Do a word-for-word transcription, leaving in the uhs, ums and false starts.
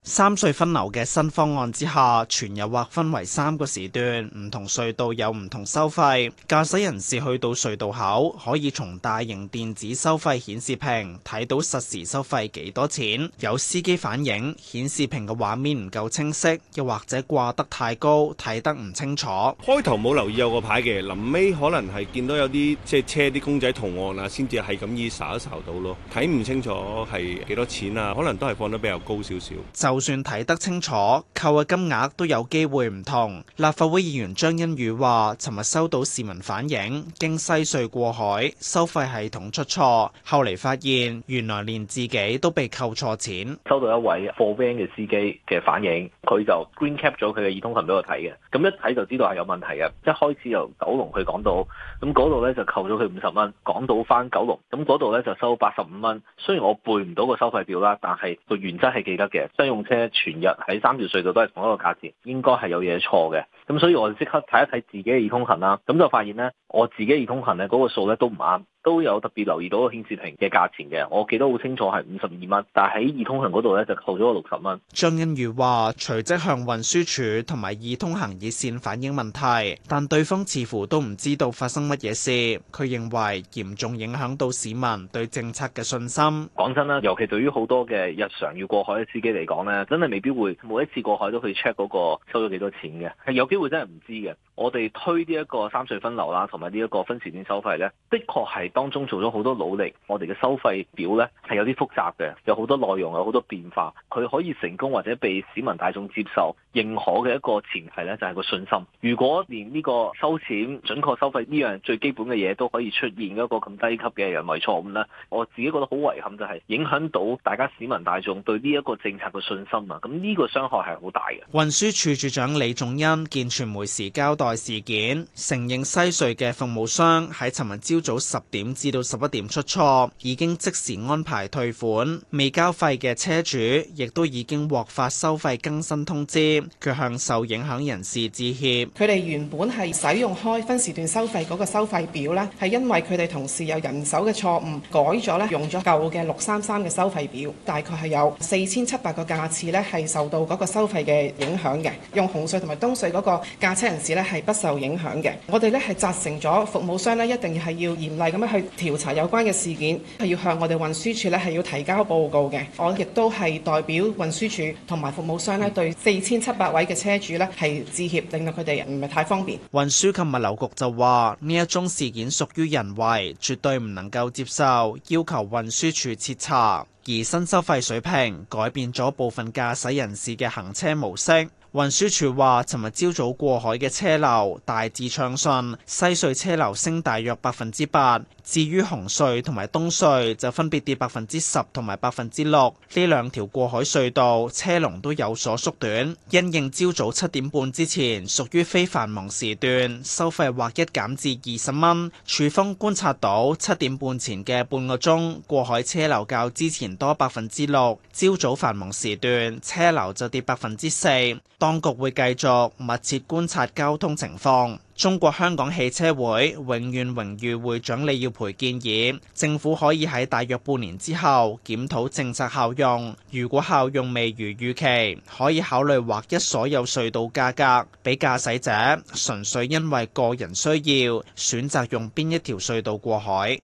三隧分流嘅新方案之下，全日劃分為三個時段，唔同隧道有唔同收費。駕駛人士去到隧道口，可以從大型電子收費顯示屏睇到實時收費幾多錢。有司機反映顯示屏嘅畫面唔夠清晰，又或者掛得太高，睇得唔清楚。 開頭冇留意有個牌嘅，臨尾可能係見到有啲即係車啲公仔圖案啊，先至係咁意睄一睄到咯，睇唔清楚係幾多錢啊，可能都係放得比較高少少。 就算睇得清楚，扣嘅金額都有機會唔同。立法會議員張欣宇話，尋日收到市民反映，經西隧過海收費系統出錯，後嚟發現原來連自己都被扣錯錢。 收到一位貨 van 嘅司機嘅反映，佢就 green cap 咗佢嘅易通行俾我睇嘅，咁一睇就知道係有問題嘅。一開始由九龍去港島，咁嗰度咧就扣咗佢五十蚊，港島翻九龍，咁嗰度咧就收八十五蚊。雖然我背唔到個收費表啦，但係個原則係記得嘅。商用車全日喺三條隧道都係同一個價錢，應該係有嘢錯嘅。咁所以我即刻睇一睇自己嘅易通行啦，咁就發現咧，我自己易通行咧嗰個數咧都唔啱。都有特別留意到個顯示屏嘅價錢嘅，我記得好清楚係五十二蚊，但係喺易通行嗰度咧就扣咗個六十蚊。 張欣宇話：隨即向運輸署同埋易通行熱線反映問題，但對方似乎都唔知道發生乜嘢事。佢認為嚴重影響到市民對政策嘅信心。 講真啦，尤其對於好多嘅日常要過海嘅司機嚟講咧，真係未必會每一次過海都去 check 嗰個收咗幾多錢嘅，係有機會真係唔知嘅。我哋推呢一個三隧分流啦，同埋呢一個分時段收費咧，的確係當中做咗好多努力。我哋嘅收費表咧係有啲複雜嘅，有好多內容，有好多變化。佢可以成功或者被市民大眾接受認可嘅一個前提咧，就係個信心。如果連呢個收錢準確收費呢樣最基本嘅嘢都可以出現一個咁低級嘅人為錯誤咧，我自己覺得好遺憾，就係影響到大家市民大眾對呢一個政策嘅信心啊！咁呢個傷害係好大嘅。 運輸署署長李仲恩見傳媒時交代事件，承認西隧嘅服務商喺尋日朝早十點至到十一點出錯，已經即時安排退款。未交費嘅車主亦都已經獲發收費更新通知，佢向受影響人士致歉。 佢哋原本係使用開分時段收費嗰個收費表呢，係因為佢哋同事有人手嘅錯誤改咗呢，用咗舊嘅六三三嘅收費表，大概係有四千七百個架次呢係受到嗰個收費嘅影響嘅。用紅隧同埋東隧嗰個駕車人士呢係不受影響嘅。我哋呢係責成咗服務商呢一定係要嚴厲咁樣去調查有關嘅事件，係要向我哋運輸署呢係要提交報告嘅。我亦都係代表運輸署同埋服務商呢對四千七百位嘅車主呢係致歉，令到佢哋唔係太方便。 運輸及物流局就話呢一宗事件屬於人為，絕對唔能夠接受，要求運輸署徹查。而新收費水平改變咗部分駕駛人士嘅行車模式。運輸署話，尋日朝早過海嘅車流大致暢順，西隧車流升大約百分之八，至於紅隧同埋東隧就分別跌百分之十同埋百分之六。呢兩條過海隧道車龍都有所縮短。因應朝早七點半之前屬於非繁忙時段，收費劃一減至二十蚊。署方觀察到七點半前嘅半個鐘過海車流較之前多百分之六，朝早繁忙時段車流就跌百分之四。當局會繼續密切觀察交通情況。中國香港汽車會永遠榮譽會長李耀培建議，政府可以喺大約半年之後檢討政策效用。如果效用未如預期，可以考慮劃一所有隧道價格，俾駕駛者純粹因為個人需要選擇用邊一條隧道過海。